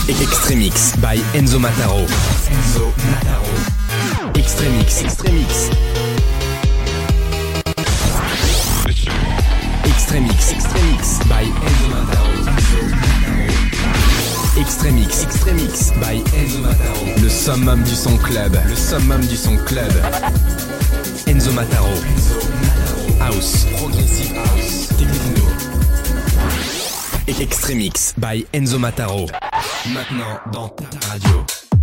Extremix by Enzo Mataro. Extremix. Extremix by Enzo Mataro. Extremix by Enzo Mataro. Le summum du son club. Enzo Mataro. House, progressive house, techno. Extremix by Enzo Mataro. Maintenant dans ta radio.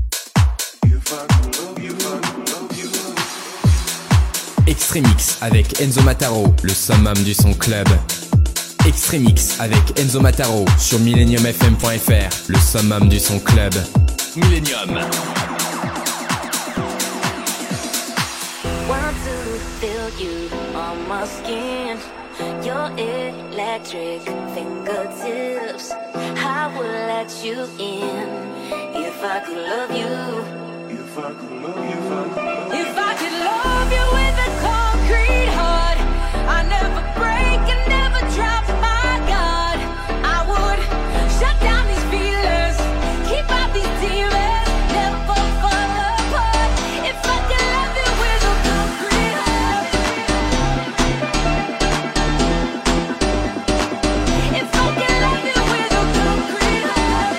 Extremix avec Enzo Mataro, le summum du son club. Extremix avec Enzo Mataro sur millenniumfm.fr, le summum du son club. Millennium. Want to feel you on my skin, your electric fingertips. I would let you in if I could love you. If I could love you with a concrete heart, I never break and never drop my guard. I would shut down these feelers, keep out these demons, never fall apart. If I could love you with a concrete heart, if I could love you with a concrete heart.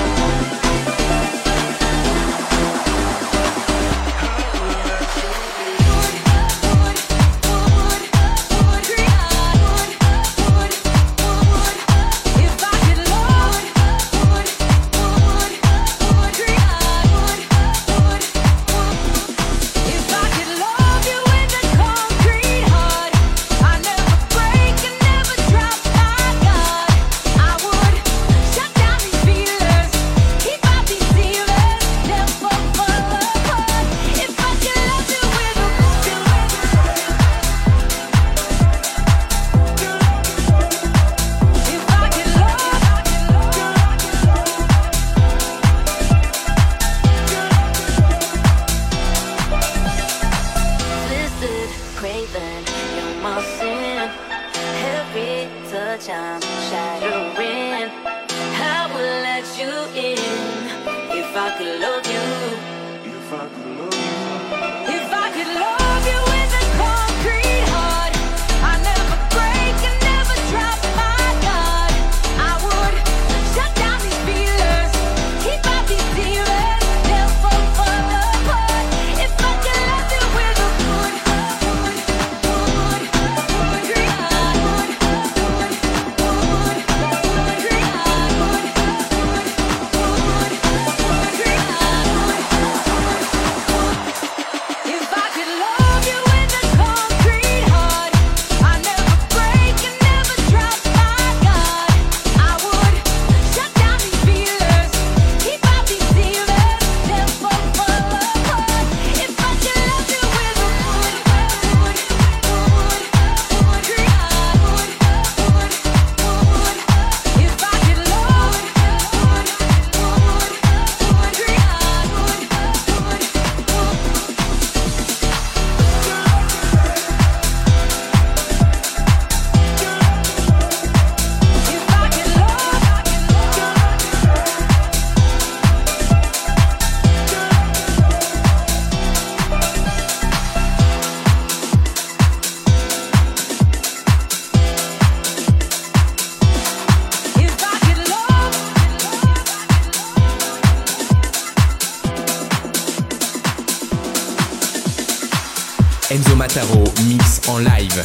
Enzo Mataro mix en live.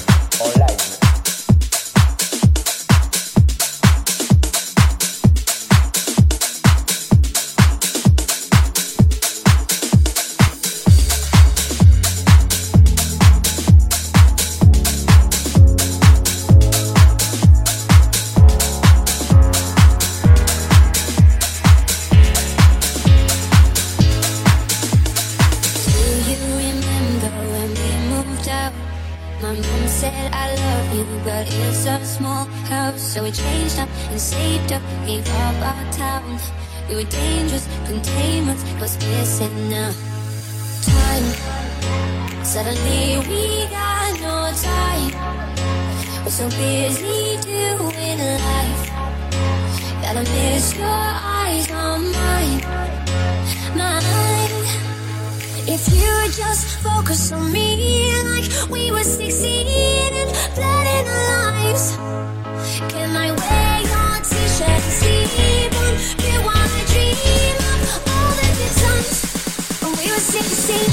So we changed up and saved up, gave up our town. We were dangerous, containment was missing now. Time, suddenly we got no time. We're so busy doing life. Gotta miss your eyes on mine. If you would just focus on me like we were 16 and blood in our lives. Can I wear your t-shirt and sleep on you wanna dream of all the good times when we were 16.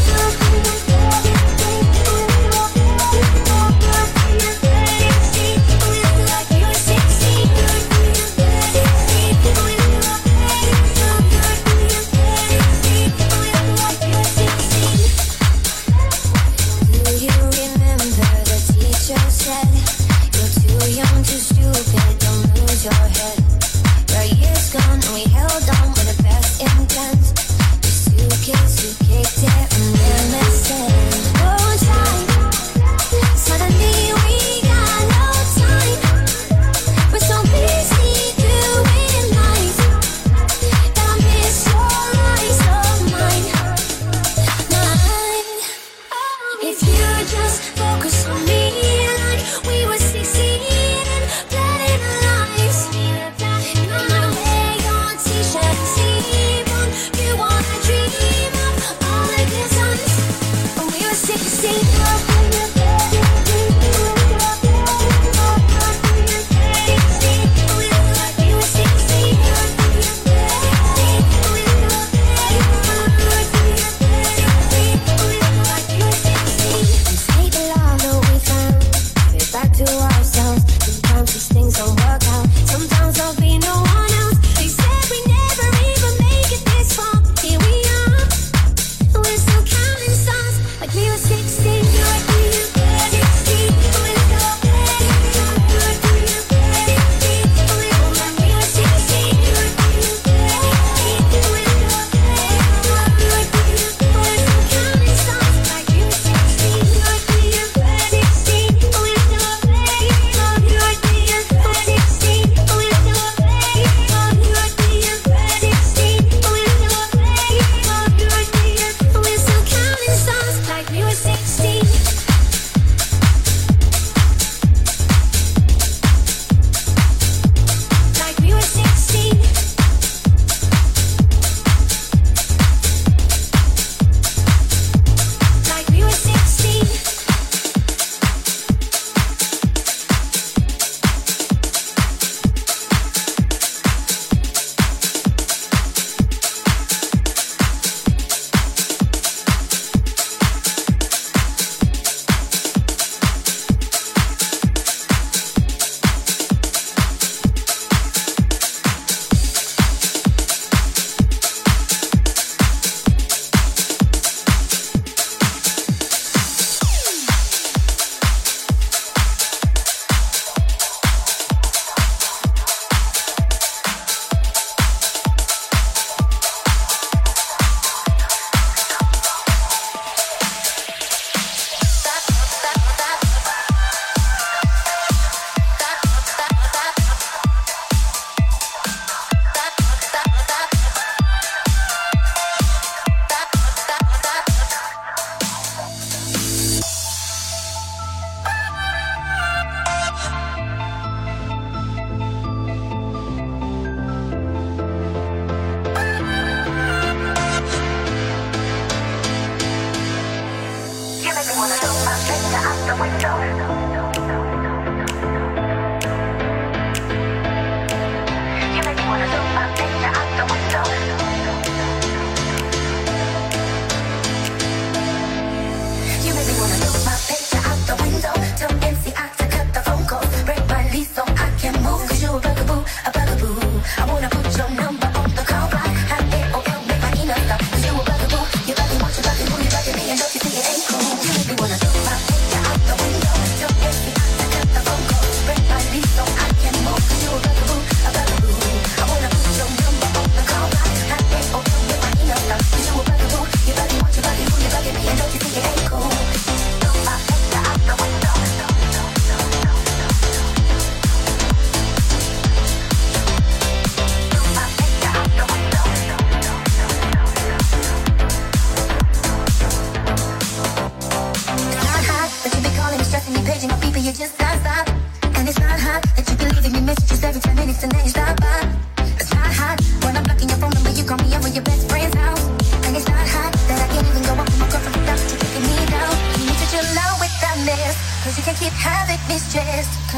Wanna throw my picture out the window.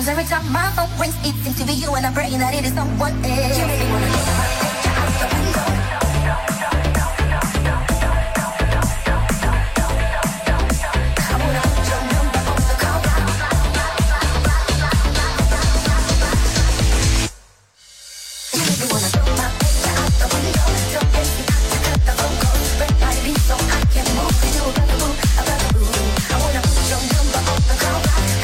Cause every time my phone rings, it seems to be you, and I'm praying that it is someone else. You make me wanna throw my picture out the window. I wanna put your number on the call. You make me wanna throw my picture out the window. So empty, I cut the phone call. Break my beat so I can move. You know about the boo, about the boo. I wanna put your number on the call.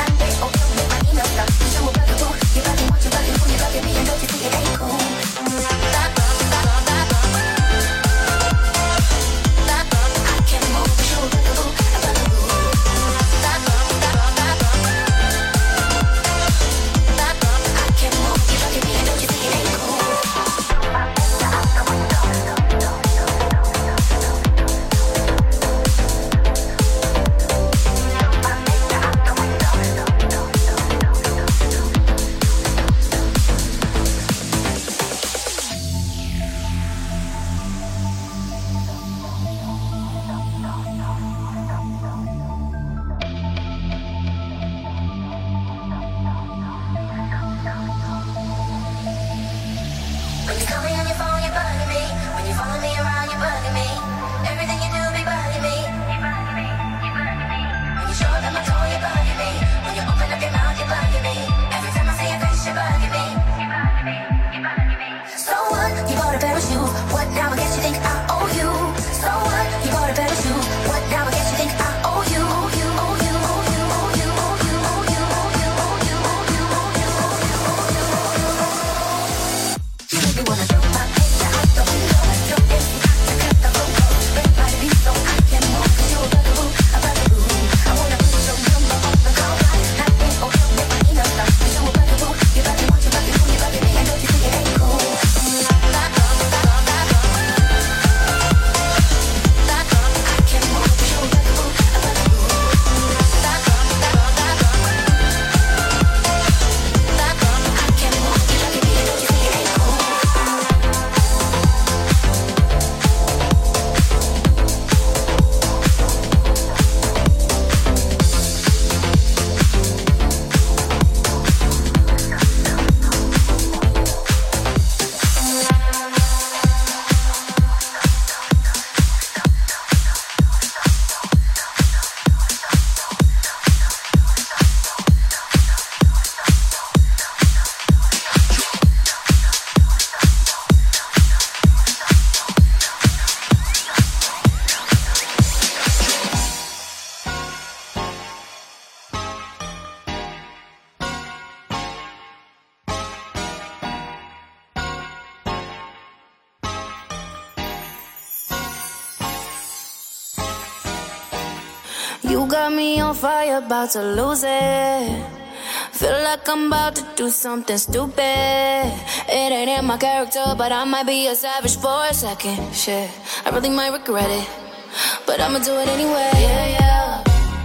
You got me on fire, about to lose it. Feel like I'm about to do something stupid. It ain't in my character, but I might be a savage for a second. Shit, I really might regret it, but I'ma do it anyway. Yeah, yeah.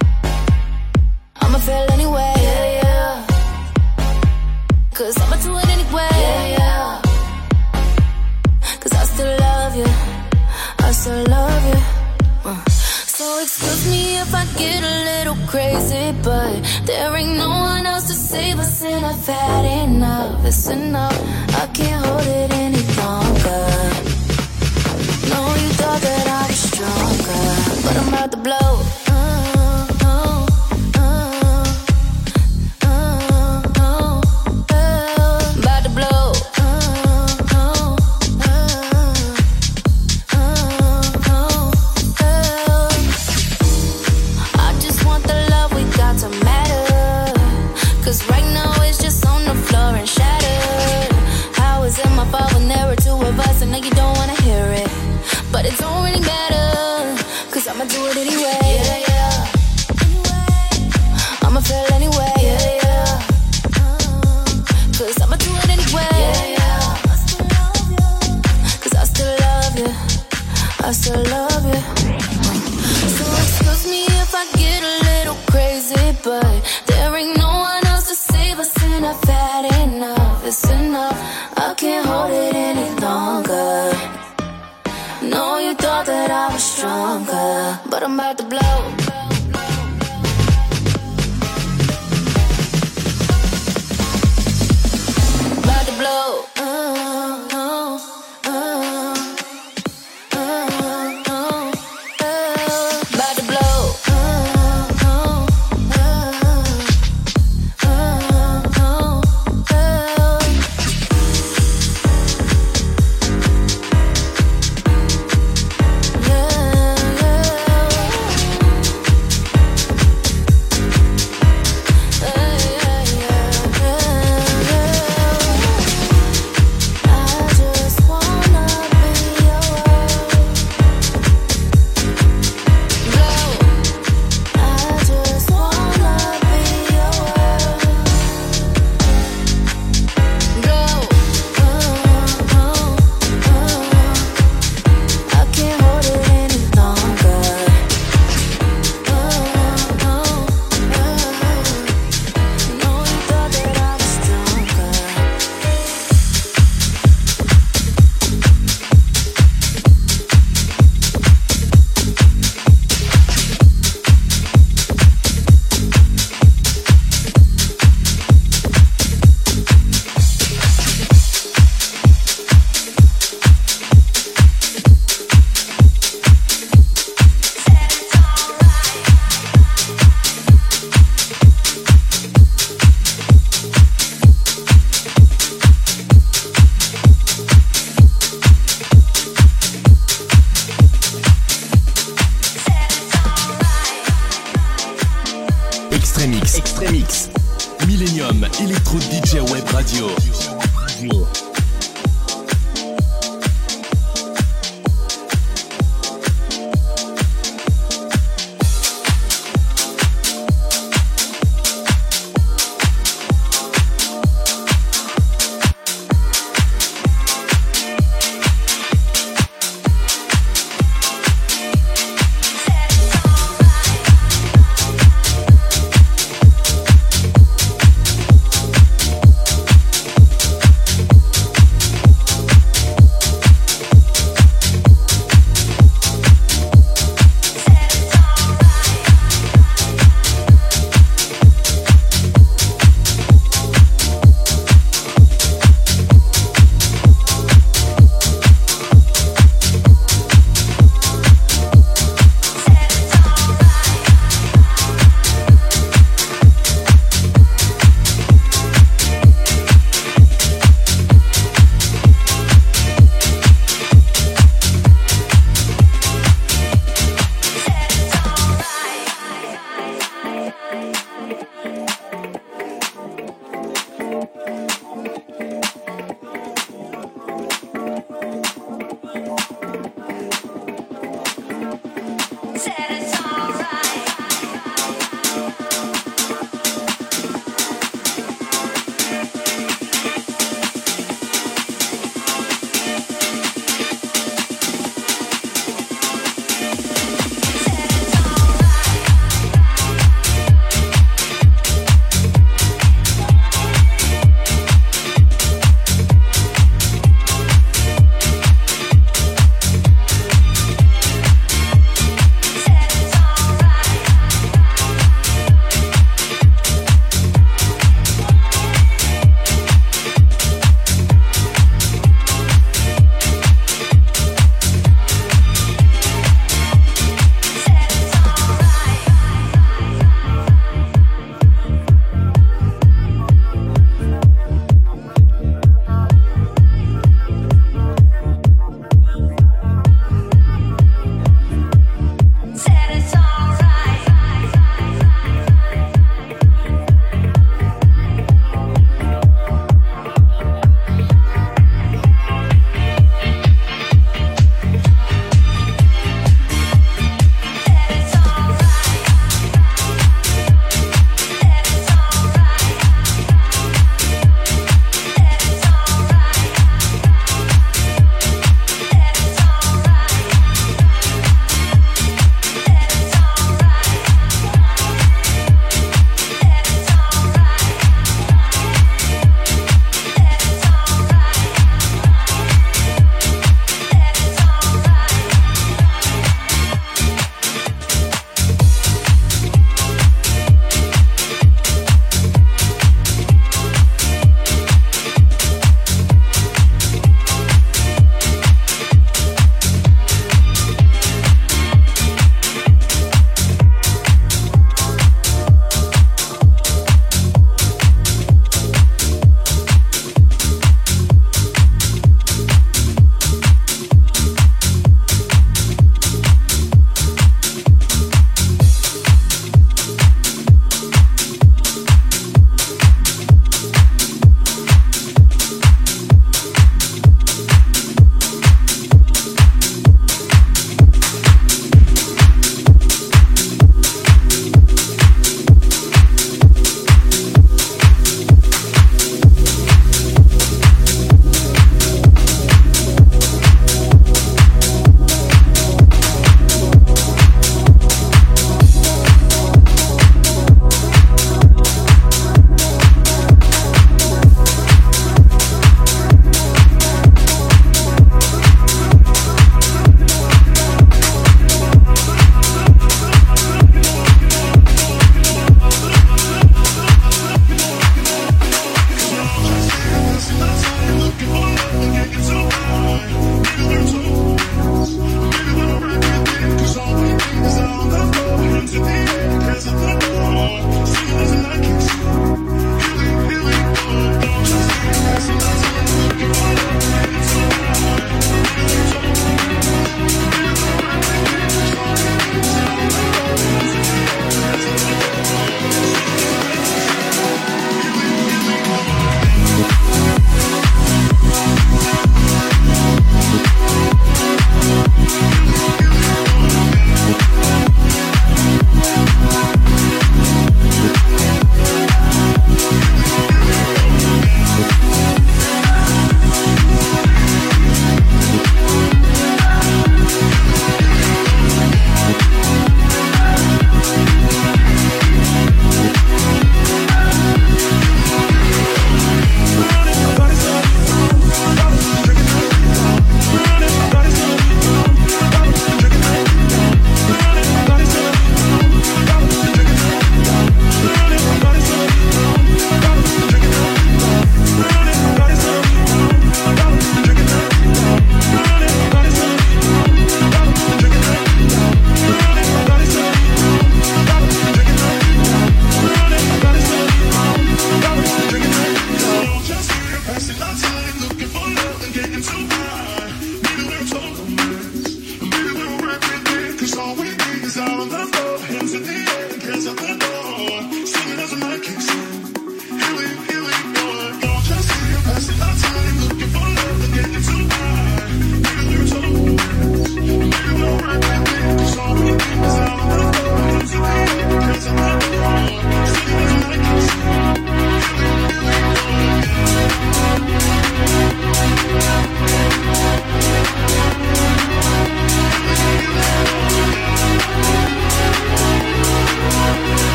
I'ma feel anyway. Yeah, yeah. Cause I'ma do it anyway. Yeah, yeah. Cause I still love you. I still love you. So excuse me if I get a little crazy, but there ain't no one else to save us, and I've had enough. It's enough, I can't hold it any longer. No, you thought that I was stronger, but I'm about to blow. About to blow. But it don't really matter, cause I'ma do it anyway. Yeah, yeah. I'ma feel anyway. Yeah, yeah. Cause I'ma do it anyway. Yeah, yeah. Cause I still love you. I still love you. So excuse me if I get a little crazy, but there ain't no one else to save us, and I've had enough. It's enough, I can't hold it any longer. No, you thought that I was stronger, but I'm about to blow. Electro DJ Web Radio.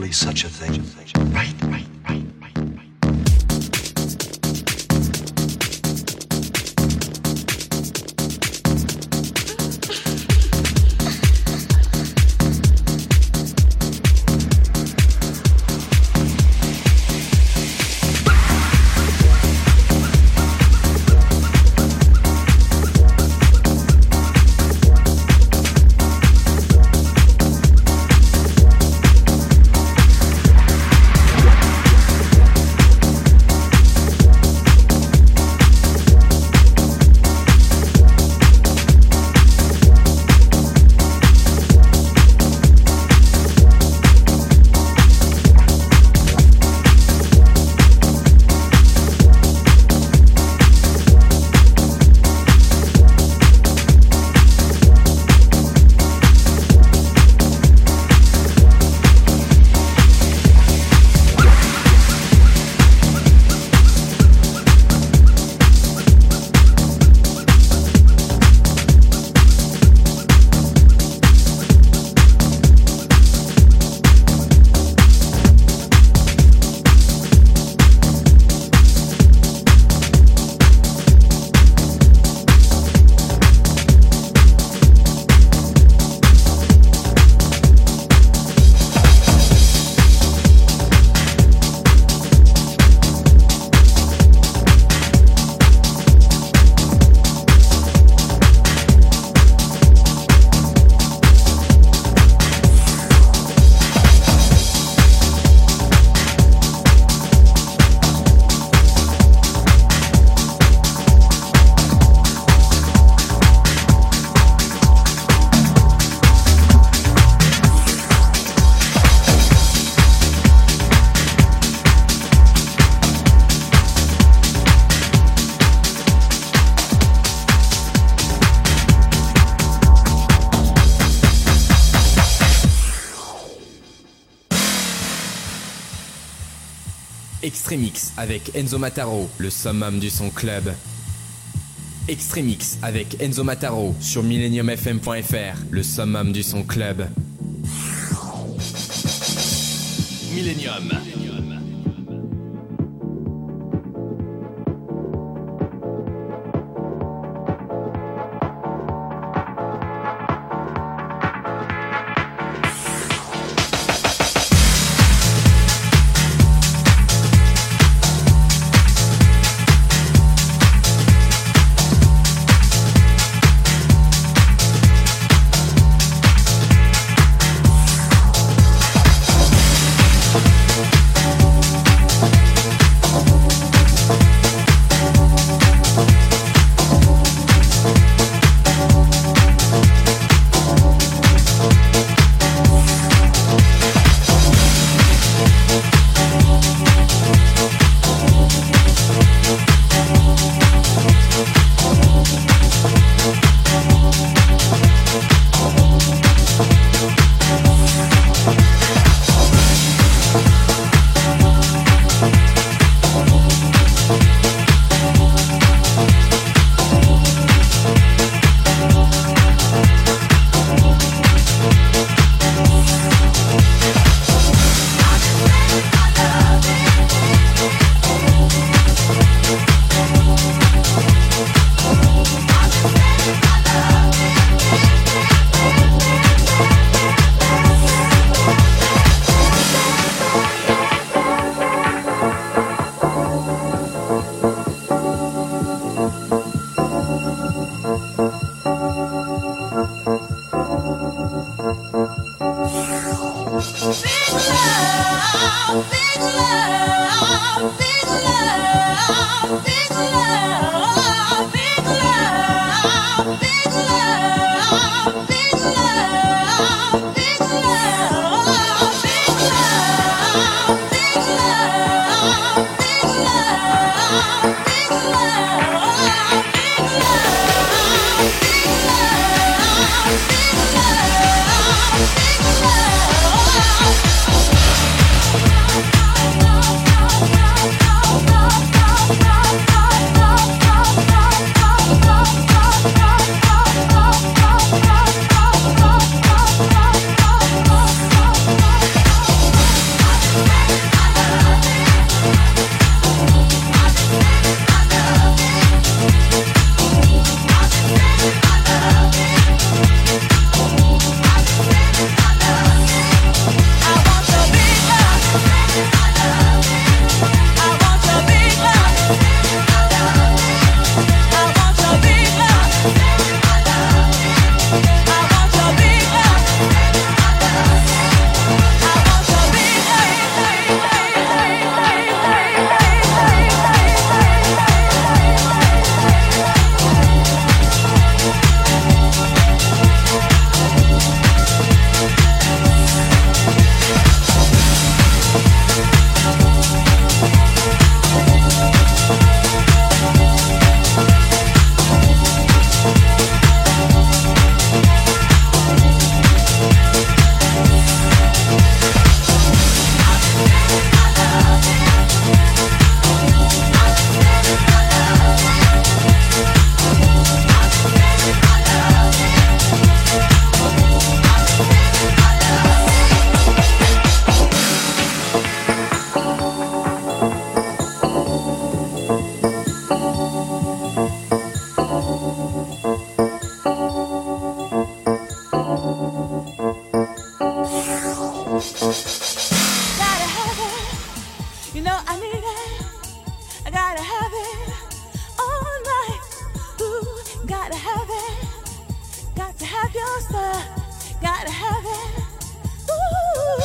be such a thing. Right. Extremix avec Enzo Mataro, le summum du son club. Extremix avec Enzo Mataro sur millenniumfm.fr, le summum du son club. Millennium. monster, gotta have it. Ooh.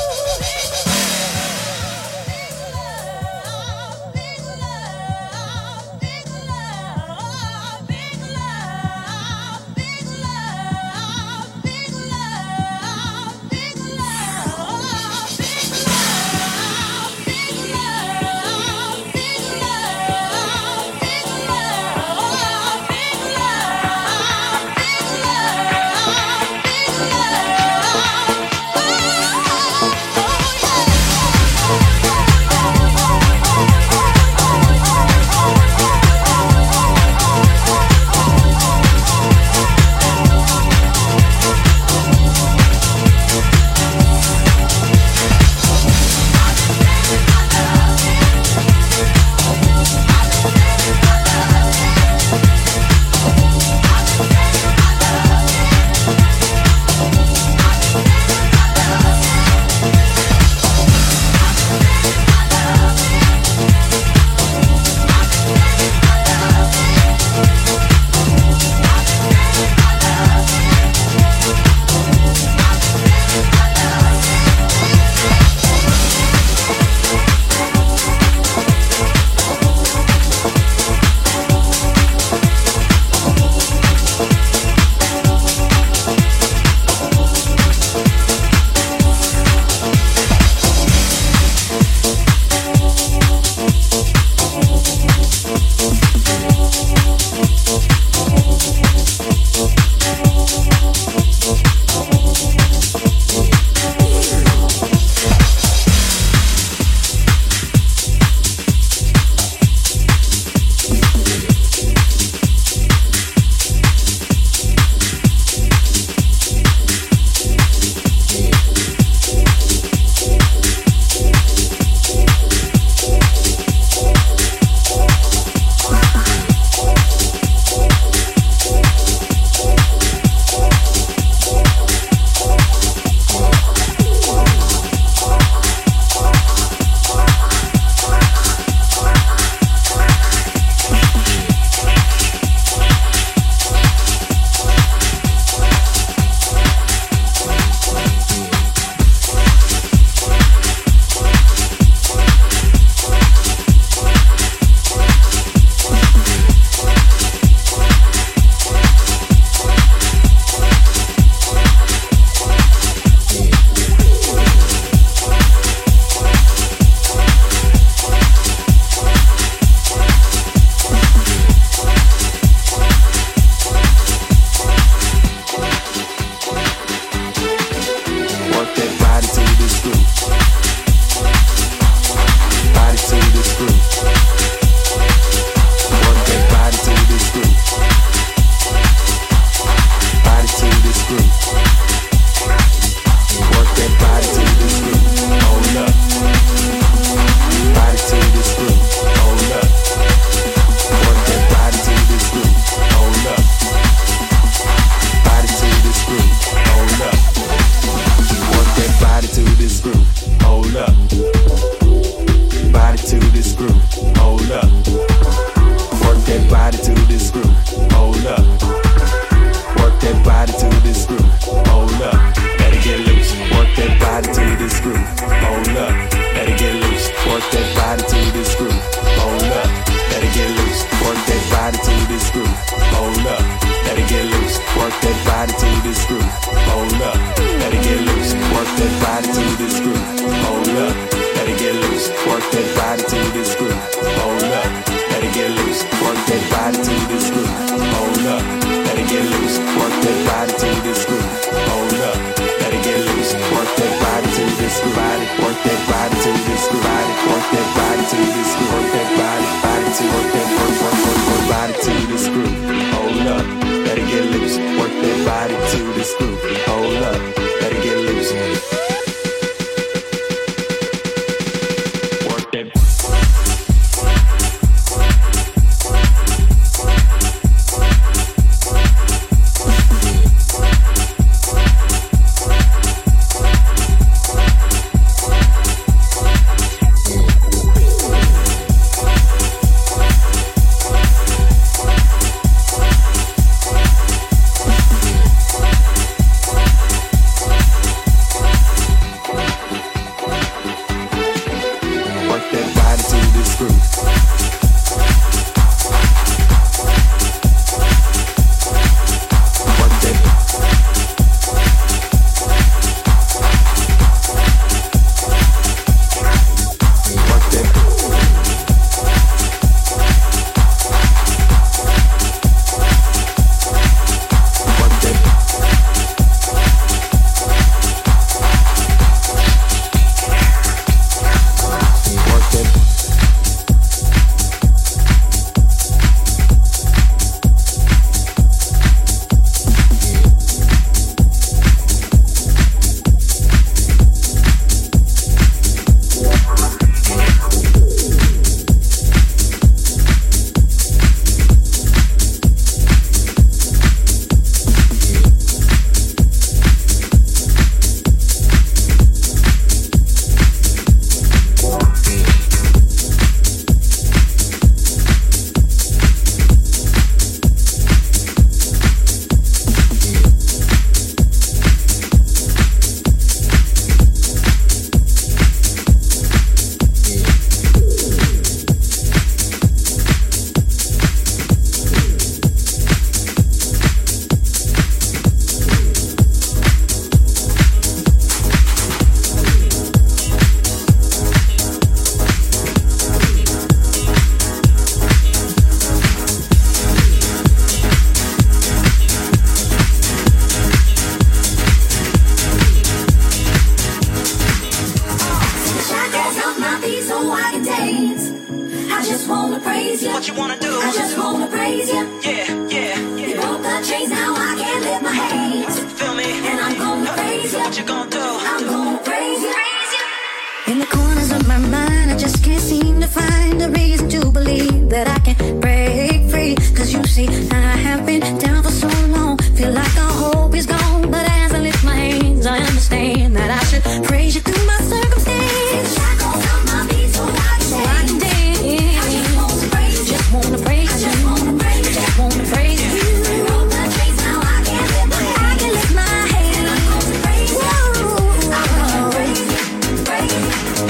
what you gonna do? I'm gonna praise you. In the corners of my mind, I just can't seem to find a reason to believe that I can break free. Cause you see, I have been down for so long, feel like all hope is gone. But as I lift my hands, I understand that I should praise you through my circumstance. Shackles on my feet so I can dance. I just wanna praise you. Just wanna praise you. I just wanna praise you. Just wanna praise you. You broke the chains, now I can lift my hands. I can lift my hands. And I'm gonna praise you. I'm gonna praise you. Praise you.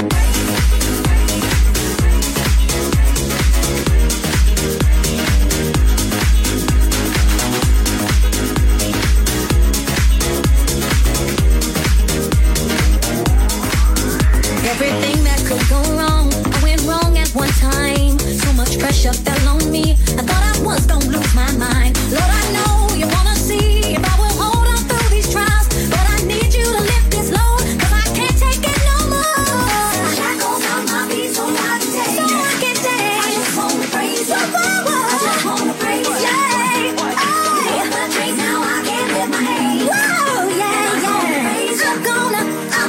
Everything that could go wrong, I went wrong at one time. So much pressure fell on me, I thought I was gonna lose my mind. Lord, I know you wanna see if I will hold on through these trials, but I need you to lift this load, cause I can't take it no more. Shackles on my feet so I can dance. So I can dance. I just wanna praise you. I just wanna praise you. Yeah. Oh, the chains, now I can lift my hands. Whoa, yeah, yeah. I'm gonna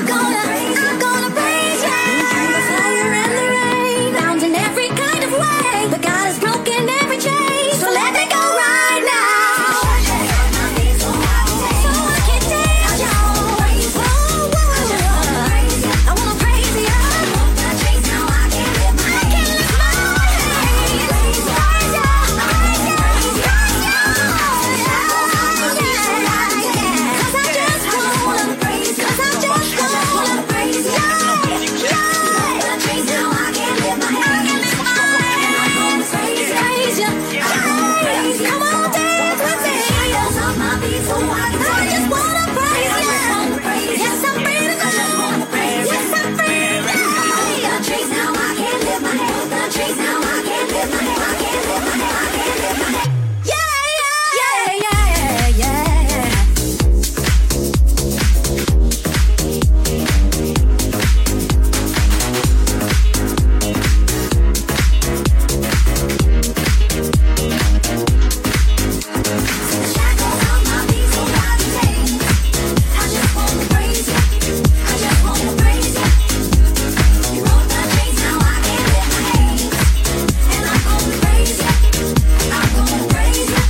praise you. The fire and the rain, found in every kind of way, but God has broken every chain, so let me go right now. So I can dance, y'all. Whoa, whoa. I wanna praise you. The chains, now I can lift my hands. Praise you. Praise you. Cause I just wanna praise you. Cause I just wanna praise you. The chains, now I can lift my hands. Praise you. Come on, dance with me. I just wanna praise you. Yes, I'm praising you. Yes, I'm praising you. The chains, now I can lift my hands. The chains, now I can lift my hands. I can lift my hands. I can lift my hands. Yeah, yeah, yeah, yeah. Shackles on my feet so I can dance. I just wanna praise you. I just wanna praise you. You broke the chains, now I can lift my hands. And I'm gonna praise you. I'm gonna praise you.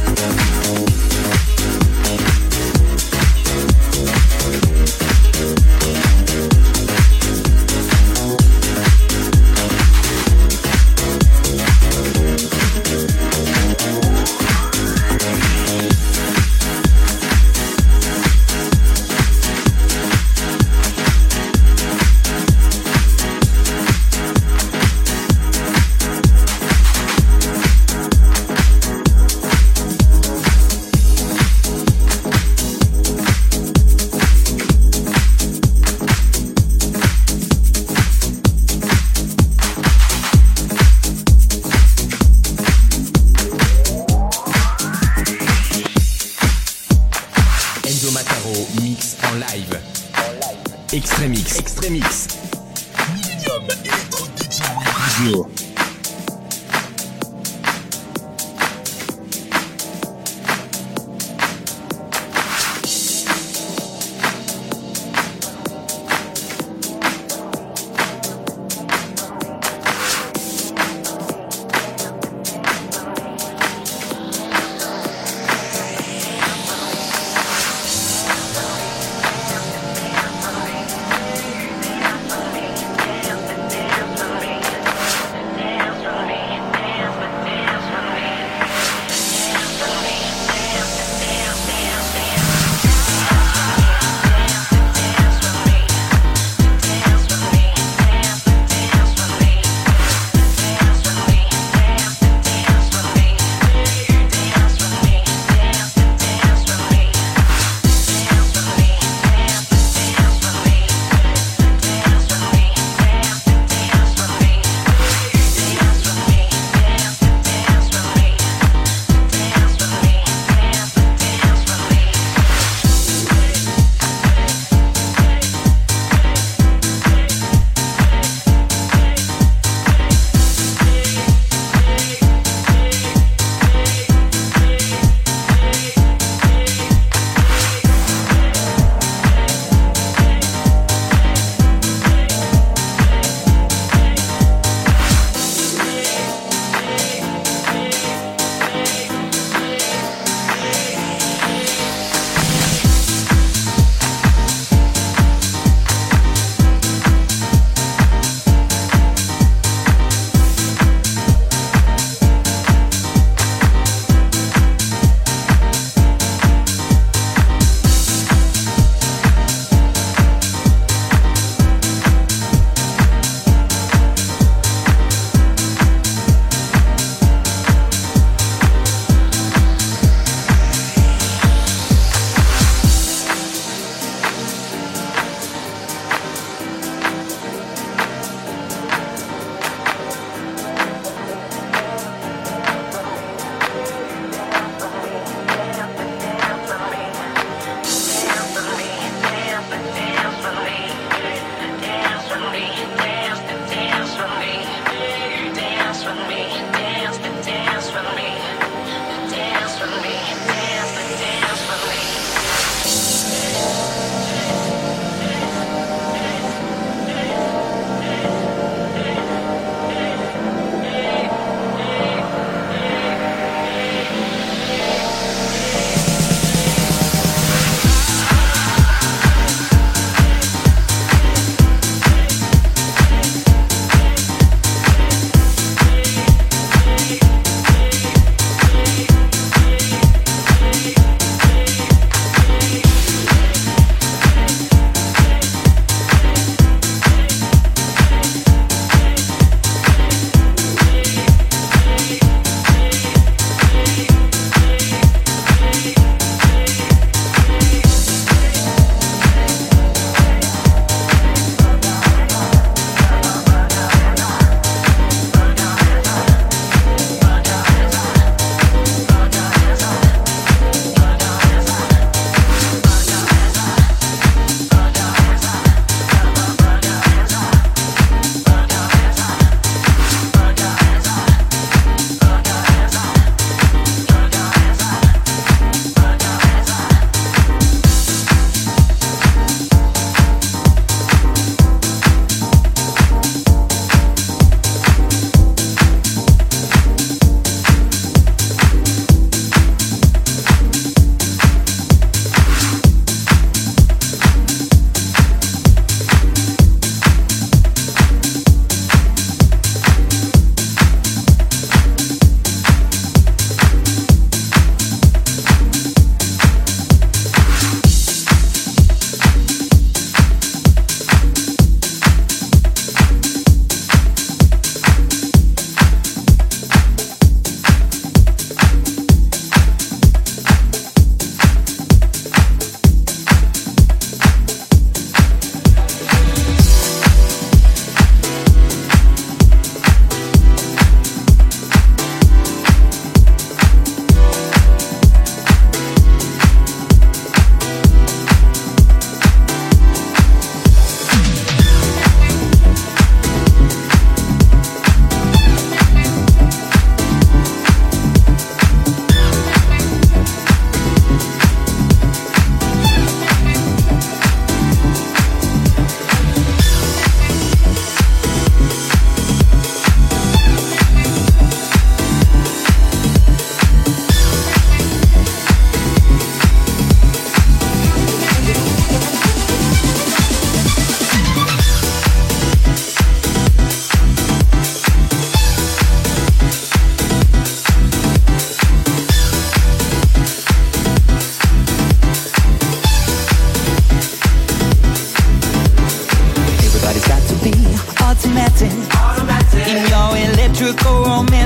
Enzo Mataro mix en live. Extremix. Extremix. Millennium Electro DJ Radio.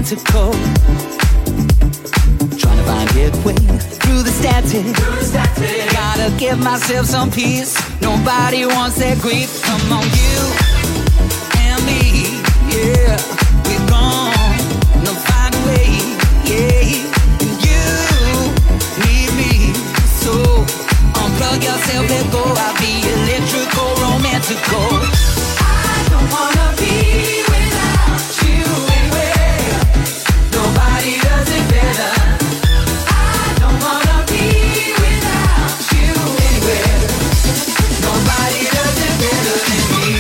romantical. Trying to find headway through the static. Gotta give myself some peace. Nobody wants that grief. Come on, you and me, yeah, we're gonna find a way, yeah. And you need me, so unplug yourself, let go. I'll be electrical, romantical. I don't wanna be without you anywhere. Nobody does it better. I don't wanna be without you anywhere. Nobody does it better than me.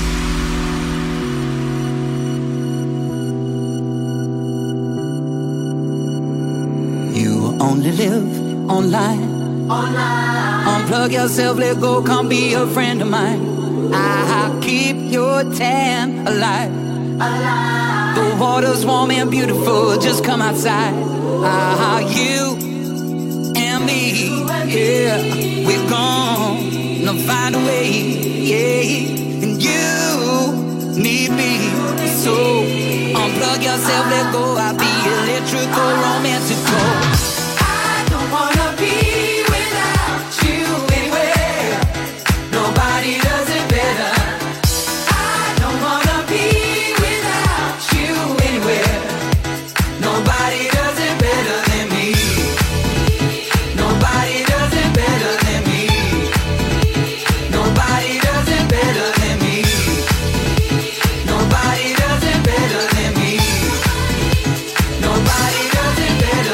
You only live online. Unplug yourself, let go, come be a friend of mine. I'll keep your tan alive. The water's warm and beautiful, just come outside. You and me, yeah, we're gonna find a way, yeah. And you need me, so unplug yourself, let go. I'll be electrical, romantical. I don't wanna be without you anywhere. Nobody does it better. I don't wanna be without you anywhere. Nobody does it better than me. Nobody does it better than me. Nobody does it better than me. Nobody does it better than me. Nobody does it better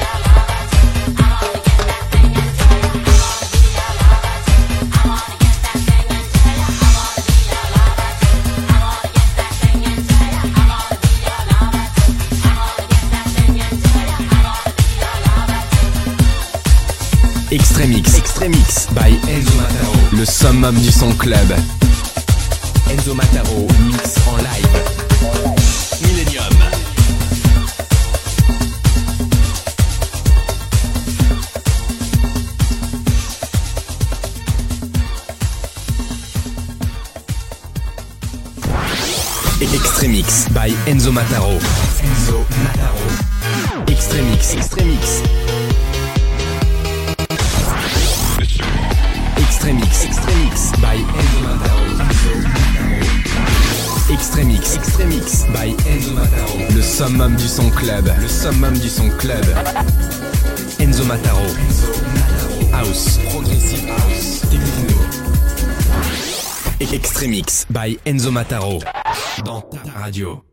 Extremix by Enzo Mataro, le summum du son club. Enzo Mataro mix en live. Millennium. Extremix by Enzo Mataro. Enzo Mataro. Extremix. Extremix by Enzo Mataro. Extremix by Enzo Mataro. Le summum du son club. Le summum du son club. Enzo Mataro. House. Progressive house. Techno. Extremix by Enzo Mataro. Dans ta radio.